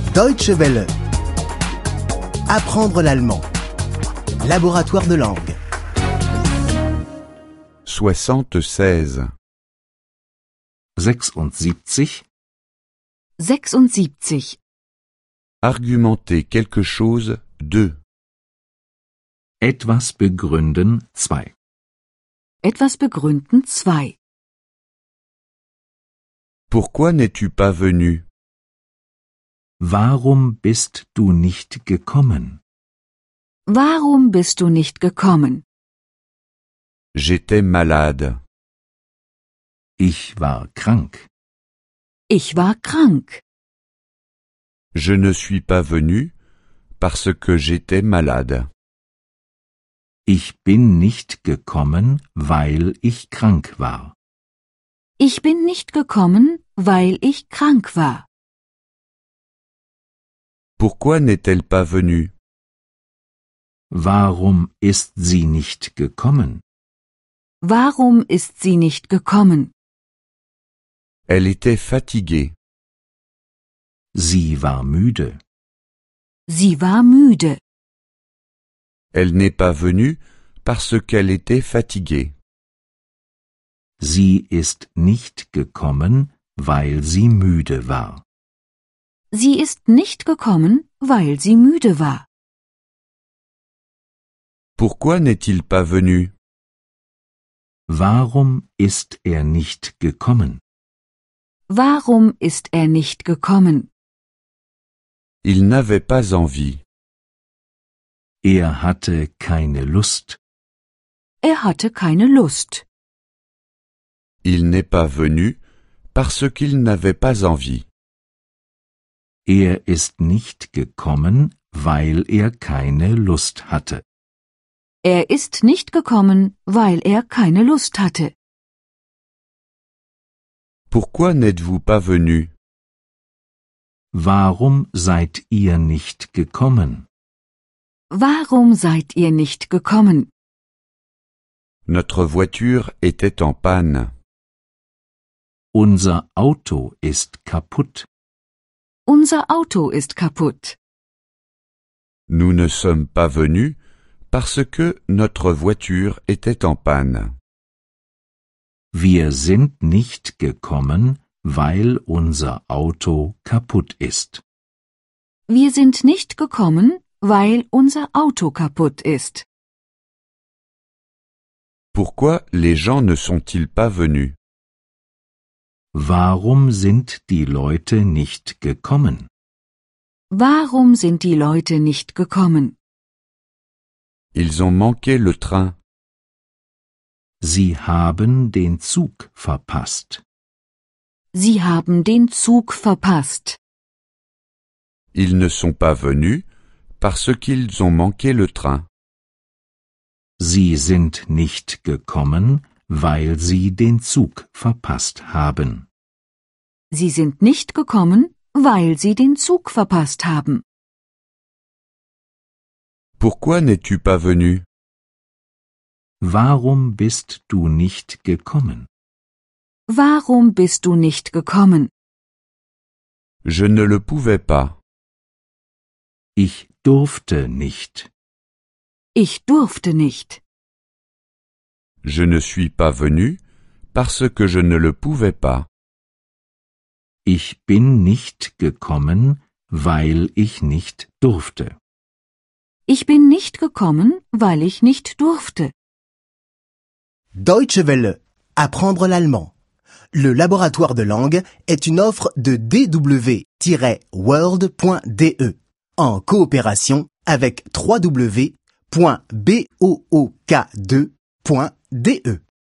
Deutsche Welle. Apprendre l'allemand. Laboratoire de langue. 76. 76. 76. Argumenter quelque chose de. Etwas begründen 2. Etwas begründen 2. Pourquoi n'es-tu pas venu? Warum bist du nicht gekommen? Warum bist du nicht gekommen? J'étais malade. Ich war krank. Ich war krank. Je ne suis pas venu parce que j'étais malade. Ich bin nicht gekommen, weil ich krank war. Ich bin nicht gekommen, weil ich krank war. Pourquoi n'est-elle pas venue? Warum ist sie nicht gekommen? Warum ist sie nicht gekommen? Elle était fatiguée. Sie war müde. Sie war müde. Elle n'est pas venue parce qu'elle était fatiguée. Sie ist nicht gekommen, weil sie müde war. Sie ist nicht gekommen, weil sie müde war. Pourquoi n'est-il pas venu? Warum ist er nicht gekommen? Warum ist er nicht gekommen? Il n'avait pas envie. Er hatte keine Lust. Er hatte keine Lust. Il n'est pas venu parce qu'il n'avait pas envie. Er ist nicht gekommen, weil er keine Lust hatte. Er ist nicht gekommen, weil er keine Lust hatte. Pourquoi n'êtes-vous pas venu? Warum seid ihr nicht gekommen? Warum seid ihr nicht gekommen? Notre voiture était en panne. Unser Auto ist kaputt. Unser Auto ist kaputt. Nous ne sommes pas venus parce que notre voiture était en panne. Wir sind nicht gekommen, weil unser Auto kaputt ist. Wir sind nicht gekommen, weil unser Auto kaputt ist. Pourquoi les gens ne sont-ils pas venus? Warum sind die Leute nicht gekommen? Warum sind die Leute nicht gekommen? Ils ont manqué le train. Sie haben den Zug verpasst. Sie haben den Zug verpasst. Ils ne sont pas venus parce qu'ils ont manqué le train. Sie sind nicht gekommen, weil sie den Zug verpasst haben. Sie sind nicht gekommen, weil sie den Zug verpasst haben. Pourquoi n'es-tu pas venu? Warum bist du nicht gekommen? Warum bist du nicht gekommen? Je ne le pouvais pas. Ich durfte nicht. Ich durfte nicht. Je ne suis pas venu parce que je ne le pouvais pas. Ich bin nicht gekommen, weil ich nicht durfte. Ich bin nicht gekommen, weil ich nicht durfte. Deutsche Welle. Apprendre l'allemand. Le laboratoire de langue est une offre de dw-world.de en coopération avec www.book2.de.